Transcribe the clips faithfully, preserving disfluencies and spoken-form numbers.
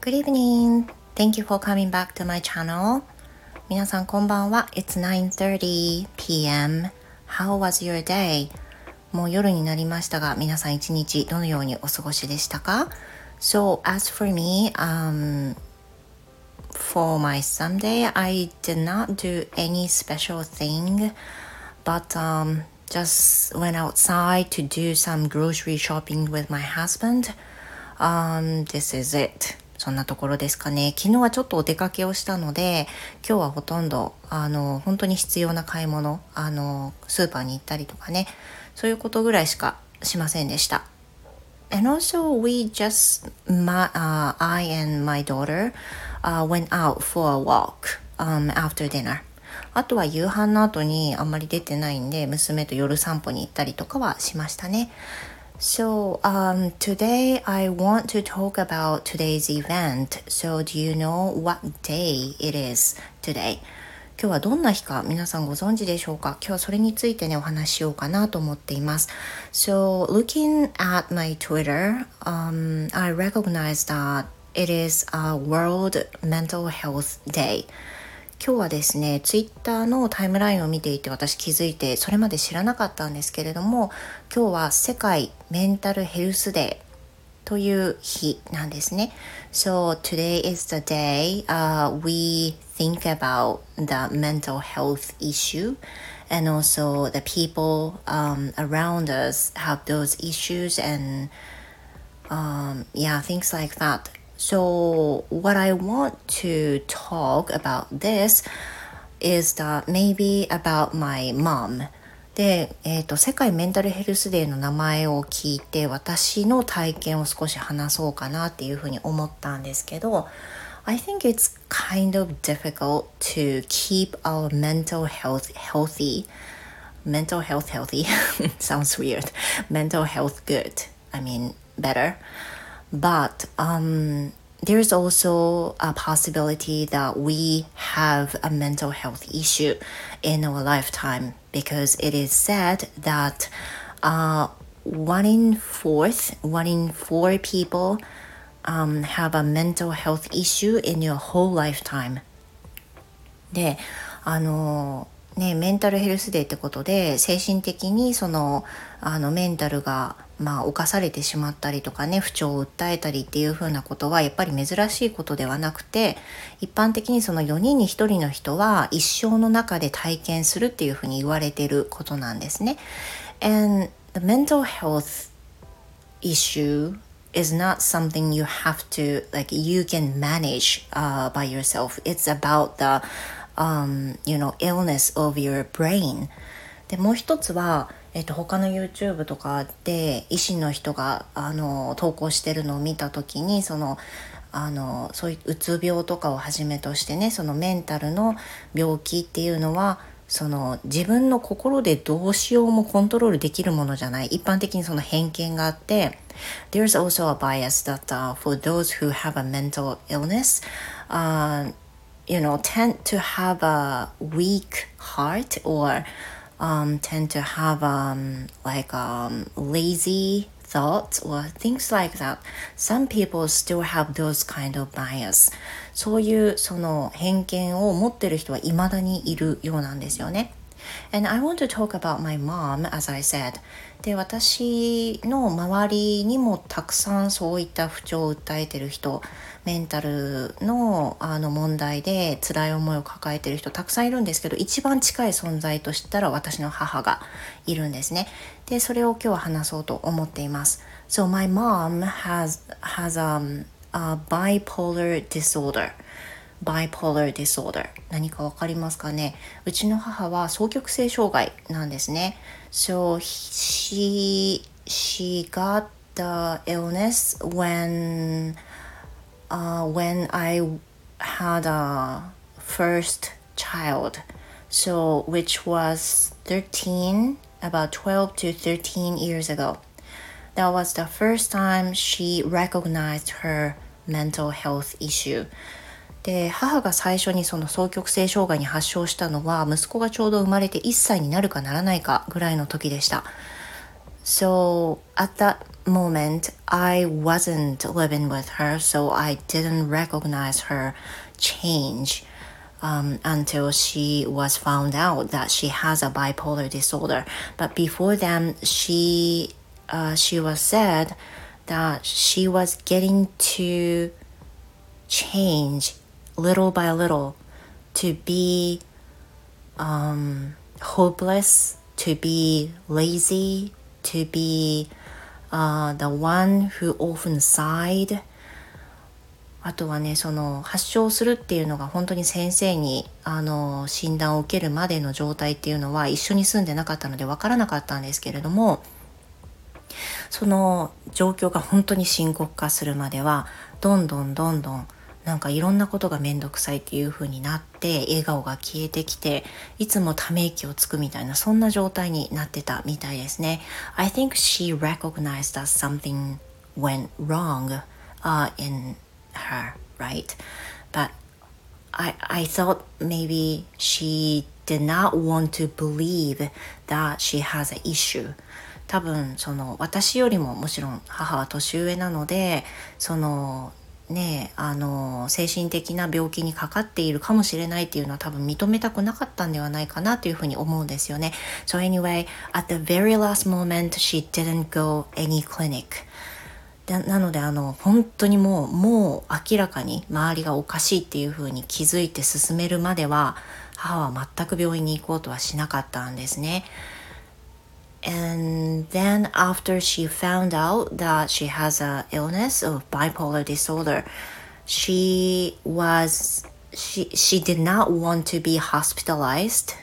Good evening. Thank you for coming back to my channel. 皆さんこんばんは。It's nine thirty p m How was your day? もう夜になりましたが、皆さん一日どのようにお過ごしでしたか？ So as for me, um, for my Sunday, I did not do any special thing, but um, just went outside to do some grocery shopping with my husband. Um, this is it. そんなところですかね。昨日はちょっとお出かけをしたので、今日はほとんどあの本当に必要な買い物、あのスーパーに行ったりとかね、そういうことぐらいしかしませんでした。And also we just, my, uh, I and my daughter uh, went out for a walk um, after dinner. あとは夕飯の後にあんまり出てないんで、娘と夜散歩に行ったりとかはしましたね。So um, today I want to talk about today's event. So do you know what day it is today? 今日はどんな日か皆さんご存知でしょうか？今日はそれについてねお話ししようかなと思っています。So looking at my Twitter, um, I recognize that it is a World Mental Health Day.今日はですね、ツイッターのタイムラインを見ていて私気づいてそれまで知らなかったんですけれども、今日は世界メンタルヘルスデーという日なんですね。So today is the day、uh, we think about the mental health issue and also the people、um, around us have those issues and、um, yeah, things like that.So what I want to talk about this is that maybe about my mom. で、えーと、世界メンタルヘルスデーの名前を聞いて私の体験を少し話そうかなっていうふうに思ったんですけど、I think it's kind of difficult to keep our mental health healthy. Mental health healthy sounds weird. Mental health good. I mean better. But um, there's also a possibility that we have a mental health issue in our lifetime because it is said that uh, one in fourth, one in four people um, have a mental health issue in your whole lifetime. で、あのね、メンタルヘルスデーってことで精神的にそのあのメンタルがまあ侵されてしまったりとかね、不調を訴えたりっていう風なことはやっぱり珍しいことではなくて、一般的にそのよにんにひとりの人は一生の中で体験するっていう風に言われていることなんですね。And the mental health issue is not something you have to, like you can manage、uh, by yourself. It's about the、um, you know, illness of your brain. で、もう一つはえっと、他の YouTube とかで医師の人があの投稿してるのを見た時にそのあのそういううつ病とかをはじめとしてね、そのメンタルの病気っていうのはその自分の心でどうしようもコントロールできるものじゃない。一般的にその偏見があって There's also a bias that、uh, for those who have a mental illness、uh, you know, tend to have a weak heart or、um, tend to have um, like um, lazy thoughts or things like that. Some people still have those kind of bias. そういうその偏見を持ってる人は未だにいるようなんですよね。And I want to talk about my mom, as I said. で、私の周りにもたくさんそういった不調を訴えてる人、メンタルの、あの問題で辛い思いを抱えてる人たくさんいるんですけど、一番近い存在としたら私の母がいるんですね。で、それを今日は話そうと思っています。So my mom has, has um, a bipolar disorder.bipolar disorder 何かわかりますかね。うちの母は双極性障害なんですね。So she, she got the illness when,、uh, when I had a first child. So which was thirteen, about twelve to thirteen years ago. That was the first time she recognized her mental health issue.で、母が最初にその双極性障害に発症したのは息子がちょうど生まれていっさいになるかならないかぐらいの時でした。 So at that moment, I wasn't living with her, so I didn't recognize her change um, until she was found out that she has a bipolar disorder. But before then, she uh, she was said that she was getting to change little by little to be um, hopeless, to be lazy, to be uh, the one who often sighed. あとはね、その発症するっていうのが本当に先生にあの診断を受けるまでの状態っていうのは一緒に住んでなかったので分からなかったんですけれども、その状況が本当に深刻化するまではどんどんどんどんなんかいろんなことがめんどくさいっていう風になって笑顔が消えてきていつもため息をつくみたいなそんな状態になってたみたいですね。I think she recognized that something went wrong、uh, in her, right? But I, I thought maybe she did not want to believe that she has an issue. 多分その私よりももちろん母は年上なのでそのねあの精神的な病気にかかっているかもしれないっていうのは多分認めたくなかったんではないかなというふうに思うんですよね。So anyway, at the very last moment, she didn't go any clinic. な, なのであの本当にもうもう明らかに周りがおかしいっていうふうに気づいて進めるまでは母は全く病院に行こうとはしなかったんですね。And then after she found out that she has an illness of bipolar disorder, she was she she did not want to be hospitalized,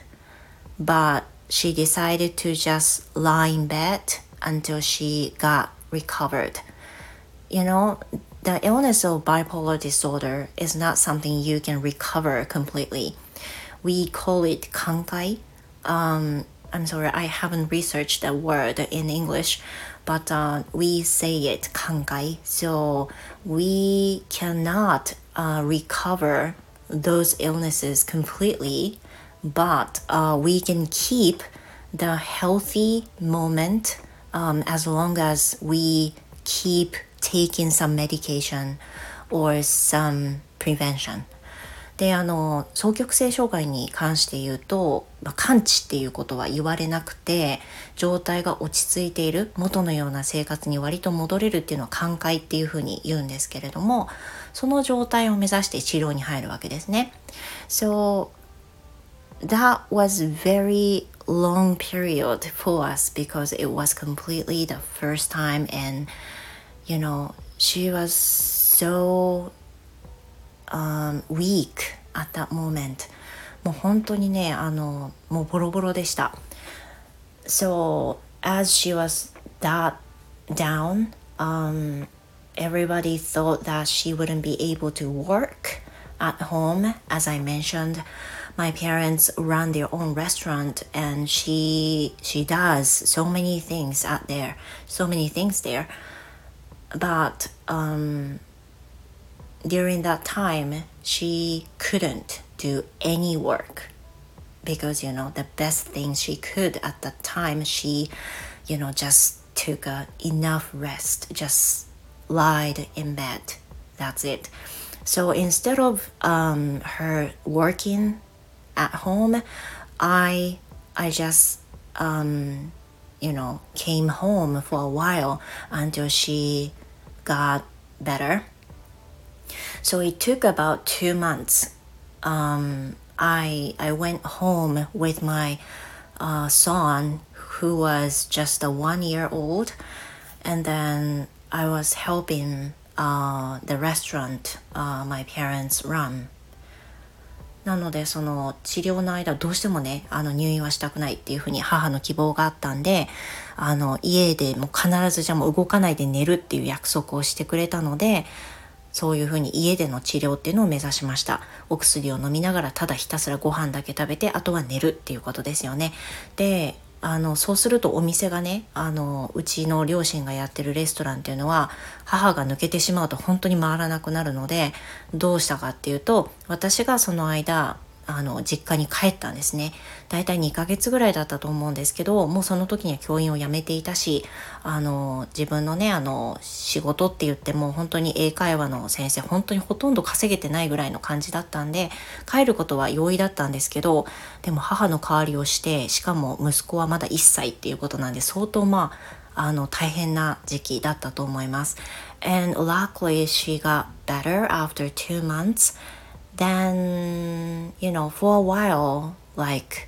but she decided to just lie in bed until she got recovered. You know, the illness of bipolar disorder is not something you can recover completely. We call it kankai. Um, I'm sorry, I haven't researched that word in English, but uh, we say it kankai. So we cannot uh, recover those illnesses completely, but uh, we can keep the healthy moment um, as long as we keep taking some medication or some prevention. であの双極性障害に関して言うと、まあ、完治っていうことは言われなくて状態が落ち着いている元のような生活に割と戻れるっていうのは寛解っていうふうに言うんですけれどもその状態を目指して治療に入るわけですね。So that was very long period for us because it was completely the first time and you know she was so Um, weak at that moment もう本当にねあのもうボロボロでした So as she was that down um, everybody thought that she wouldn't be able to work at home. As I mentioned, my parents run their own restaurant and she she does so many things out there so many things there but um during that time, she couldn't do any work because, you know, the best thing she could at that time, she, you know, just took a enough rest, just lied in bed. That's it. So instead of um, her working at home, I, I just, um, you know, came home for a while until she got better.So it took about two months. Um, I I went home with my uh, son, who was just a one year old, and then I was helping uh, the restaurant uh, my parents run. なのでその治療の間どうしてもねあの入院はしたくないっていうふうに母の希望があったんであの家でもう必ずじゃあもう動かないで寝るっていう約束をしてくれたのでそういうふうに家での治療っていうのを目指しました。お薬を飲みながらただひたすらご飯だけ食べてあとは寝るっていうことですよね。であのそうするとお店がねあのうちの両親がやってるレストランっていうのは母が抜けてしまうと本当に回らなくなるのでどうしたかっていうと私がその間あの実家に帰ったんですね。だいたいにかげつぐらいだったと思うんですけど、もうその時には教員を辞めていたし、あの自分のねあの仕事って言っても本当に英会話の先生本当にほとんど稼げてないぐらいの感じだったんで、帰ることは容易だったんですけど、でも母の代わりをして、しかも息子はまだいっさいっていうことなんで、相当まああの大変な時期だったと思います。And luckily she got better after two months. Then, you know, for a while, like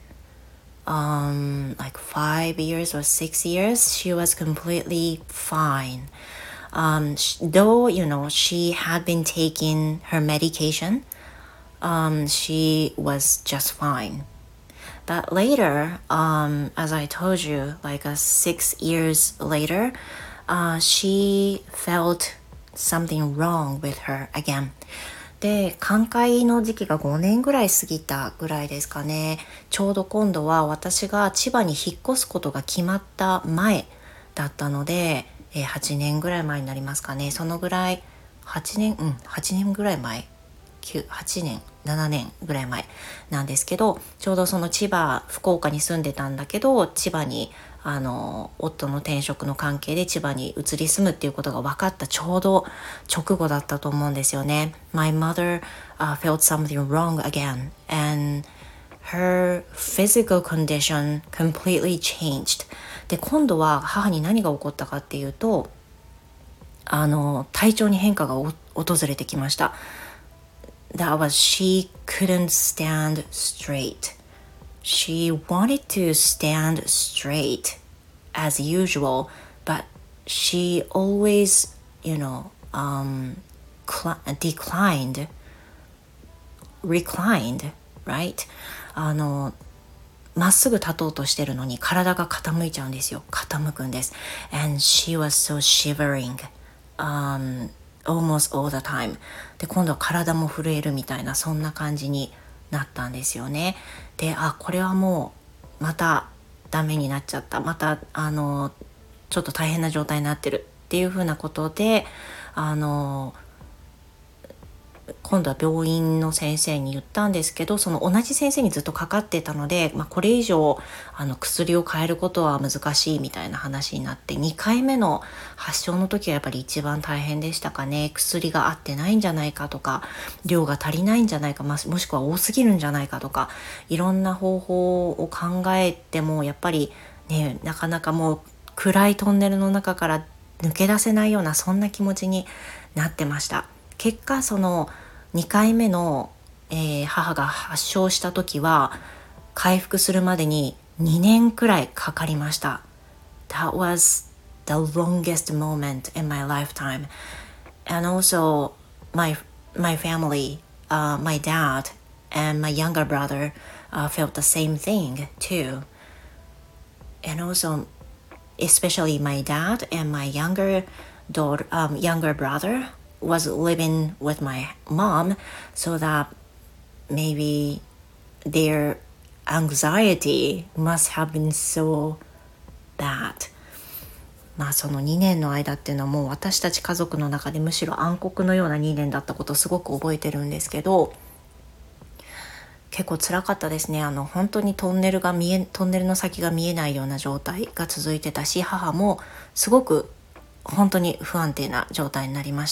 um like five years or six years, she was completely fine. Um, sh- though, you know, she had been taking her medication, um, she was just fine. But later, um, as I told you, like uh, six years later, uh, she felt something wrong with her again. で、寛解の時期がごねんぐらい過ぎたぐらいですかね。ちょうど今度は私が千葉に引っ越すことが決まった前だったので、えーはちねんぐらい前になりますかね。そのぐらい、はちねん、うん、はちねんぐらい前。きゅう、はちねん、ななねんぐらい前なんですけど、ちょうどその千葉、福岡に住んでたんだけど、千葉にあの夫の転職の関係で千葉に移り住むっていうことが分かったちょうど直後だったと思うんですよね。My mother、uh, felt something wrong again and her physical condition completely changed. で、今度は母に何が起こったかっていうと、あの体調に変化が訪れてきました。That was she couldn't stand straight. She wanted to stand straight as usual, but she always, you know, um, cl- declined, reclined, right? あの、まっすぐ立とうとしてるのに体が傾いちゃうんですよ。傾くんです。And she was so shivering, um, almost all the time. で、今度は体も震えるみたいな、そんな感じになったんですよね。で、あ、これはもうまたダメになっちゃった。またあのちょっと大変な状態になってるっていうふうなことで、あの今度は病院の先生に言ったんですけど、その同じ先生にずっとかかってたので、まあ、これ以上あの薬を変えることは難しいみたいな話になって、にかいめの発症の時はやっぱり一番大変でしたかね。薬が合ってないんじゃないかとか、量が足りないんじゃないか、まあ、もしくは多すぎるんじゃないかとか、いろんな方法を考えてもやっぱりね、なかなかもう暗いトンネルの中から抜け出せないような、そんな気持ちになってました。結果そのにかいめの、えー、母が発症した時は回復するまでににねんくらいかかりました。 That was the longest moment in my lifetime. And also my, my family, uh, my dad and my younger brother uh, felt the same thing too. And also especially my dad and my younger daughter, um, younger brother was living with my mom, so that maybe their anxiety must have been so bad. まあそのにねんの間っていうのはもう私たち家族の中でむしろ暗黒のようなにねんだったことをすごく覚えてるんですけど、結構辛かったですね。あの本当にトンネルが見えトンネルの先が見えないような状態が続いてたし、母もすごく本当に不安定な状態になりました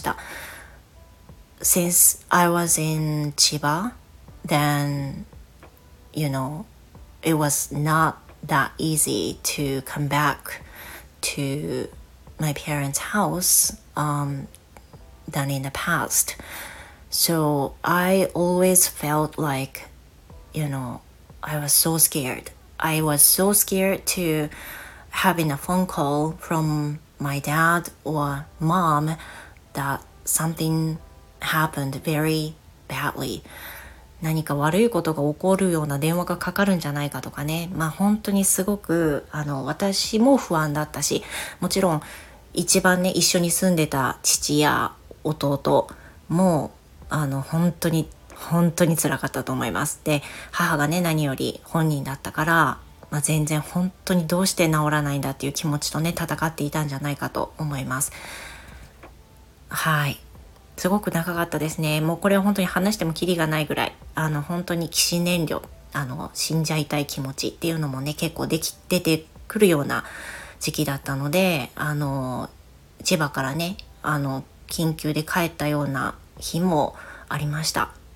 。Since I was in Chiba, then, you know, it was not that easy to come back to my parents' house um, than in the past. So I always felt like, you know, I was so scared. I was so scared to having a phone call from my dad or mom that something happened very badly. 何か悪いことが起こるような電話がかかるんじゃないかとかね。まあ本当にすごくあの私も不安だったし、もちろん一番ね一緒に住んでた父や弟もあの本当に本当に辛かったと思います。で、母がね何より本人だったから、まあ、全然本当にどうして治らないんだっていう気持ちとね戦っていたんじゃないかと思います。はい。 すごく長かったですね。もうこれは本当に話してもキリがないぐらい、あの本当に起死燃料、あの死んじゃいたい気持ちっていうのもね結構でき出てくるような時期だったので、あの千葉からねあの緊急で帰ったような日もありました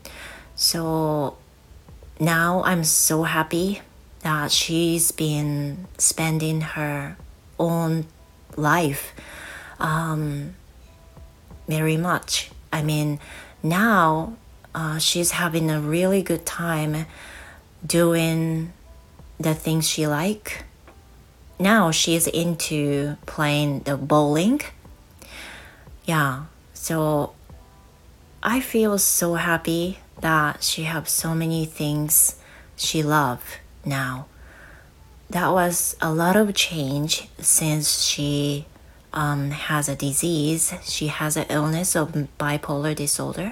。So now I'm so happy that she's been spending her own life um, very much. I mean, now uh, she's having a really good time doing the things she like. Now she's into playing the bowling. Yeah, so I feel so happy that she have so many things she love now. That was a lot of change since she um, has a disease. She has an illness of bipolar disorder.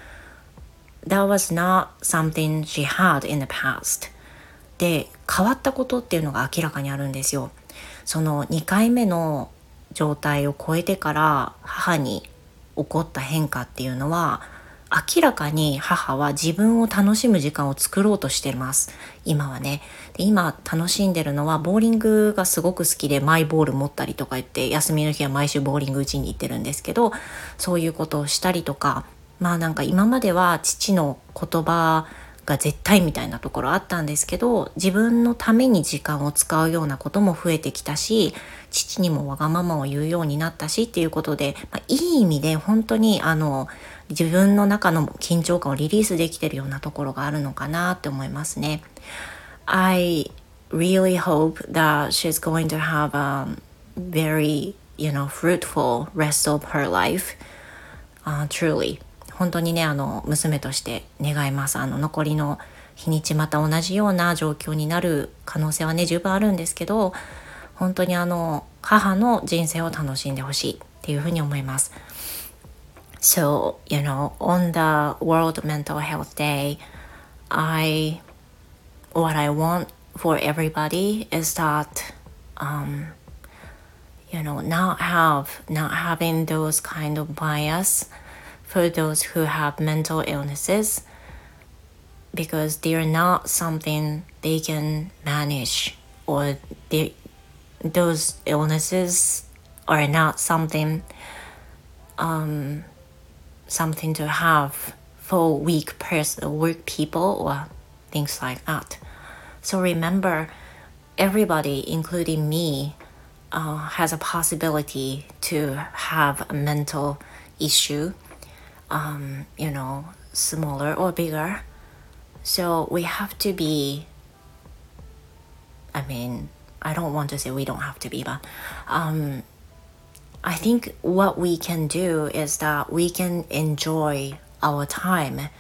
That was not something she had in the past. で、変わったことっていうのが明らかにあるんですよ。そのにかいめの状態を超えてから母に起こった変化っていうのは、明らかに母は自分を楽しむ時間を作ろうとしてます。今はね。で、今楽しんでるのはボーリングがすごく好きで、マイボール持ったりとか言って休みの日は毎週ボーリング打ちに行ってるんですけど、そういうことをしたりとか、まあなんか今までは父の言葉が絶対みたいなところあったんですけど、自分のために時間を使うようなことも増えてきたし、父にもわがままを言うようになったしっていうことで、まあ、いい意味で本当にあの自分の中の緊張感をリリースできてるようなところがあるのかなって思いますね。I really hope that she's going to have a very, you know, fruitful rest of her life. Uh, truly.本当にねあの娘として願います。あの残りの日にちまた同じような状況になる可能性はね十分あるんですけど、本当にあの母の人生を楽しんでほしいっていうふうに思います。So, you know, on the World Mental Health Day, I what I want for everybody is that um, you know, not have not having those kind of bias.For those who have mental illnesses, because they are not something they can manage, or they, those illnesses are not something um, something to have for weak person, weak people, or things like that. So remember, everybody, including me, uh, has a possibility to have a mental issue.Um, you know, smaller or bigger. So we have to be, I mean, I don't want to say we don't have to be, but um, I think what we can do is that we can enjoy our time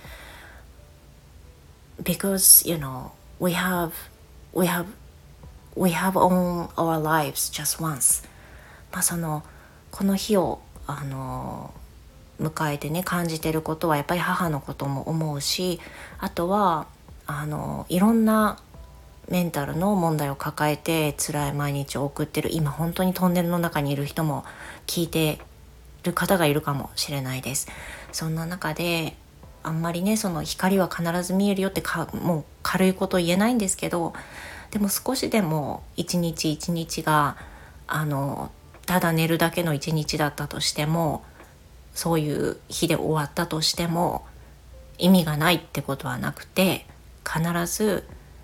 because, you know, we have, we have, we have own our lives just once. まあその、この日を、あの、迎えてね感じてることはやっぱり母のことも思うし、あとはあのいろんなメンタルの問題を抱えて辛い毎日を送ってる今本当にトンネルの中にいる人も聞いてる方がいるかもしれないです。そんな中であんまりねその光は必ず見えるよってかもう軽いこと言えないんですけど、でも少しでも一日一日があのただ寝るだけの一日だったとしても、そういう日で終わったとしても意味がないってことはなくて、必ず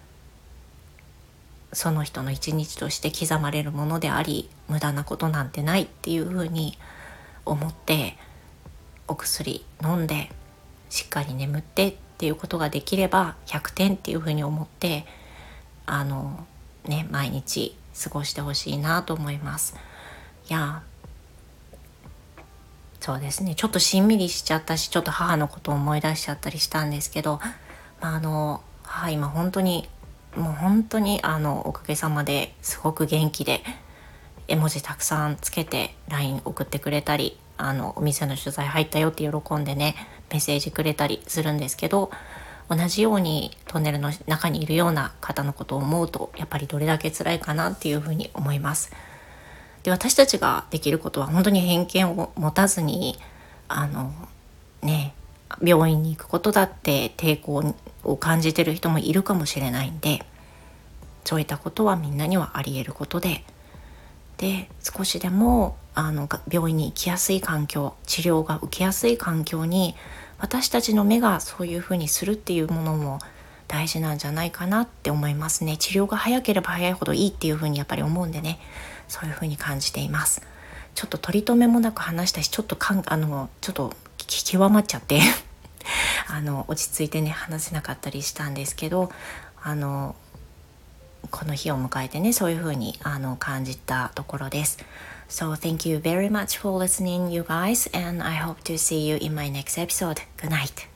その人の一日として刻まれるものであり、無駄なことなんてないっていうふうに思って、お薬飲んでしっかり眠ってっていうことができればひゃくてんっていうふうに思って、あのね毎日過ごしてほしいなと思います。いやそうですね、ちょっとしんみりしちゃったし、ちょっと母のことを思い出しちゃったりしたんですけど、まあ、あの母今本当にもう本当にあのおかげさまですごく元気で、絵文字たくさんつけて ライン 送ってくれたり、あのお店の取材入ったよって喜んでねメッセージくれたりするんですけど、同じようにトンネルの中にいるような方のことを思うと、やっぱりどれだけ辛いかなっていうふうに思います。で、私たちができることは本当に偏見を持たずに、あの病院に行くことだって抵抗を感じてる人もいるかもしれないんで、そういったことはみんなにはあり得ることで、で少しでもあの病院に行きやすい環境、治療が受けやすい環境に私たちの目がそういうふうにするっていうものも大事なんじゃないかなって思いますね。治療が早ければ早いほどいいっていうふうにやっぱり思うんでね、そういうふうに感じています。ちょっと取り留めもなく話したし、ちょっとかんあのちょっと極まっちゃってあの落ち着いてね話せなかったりしたんですけど、あのこの日を迎えてね、そういう風にあの感じたところです。So thank you very much for listening, you guys, and I hope to see you in my next episode. Good night.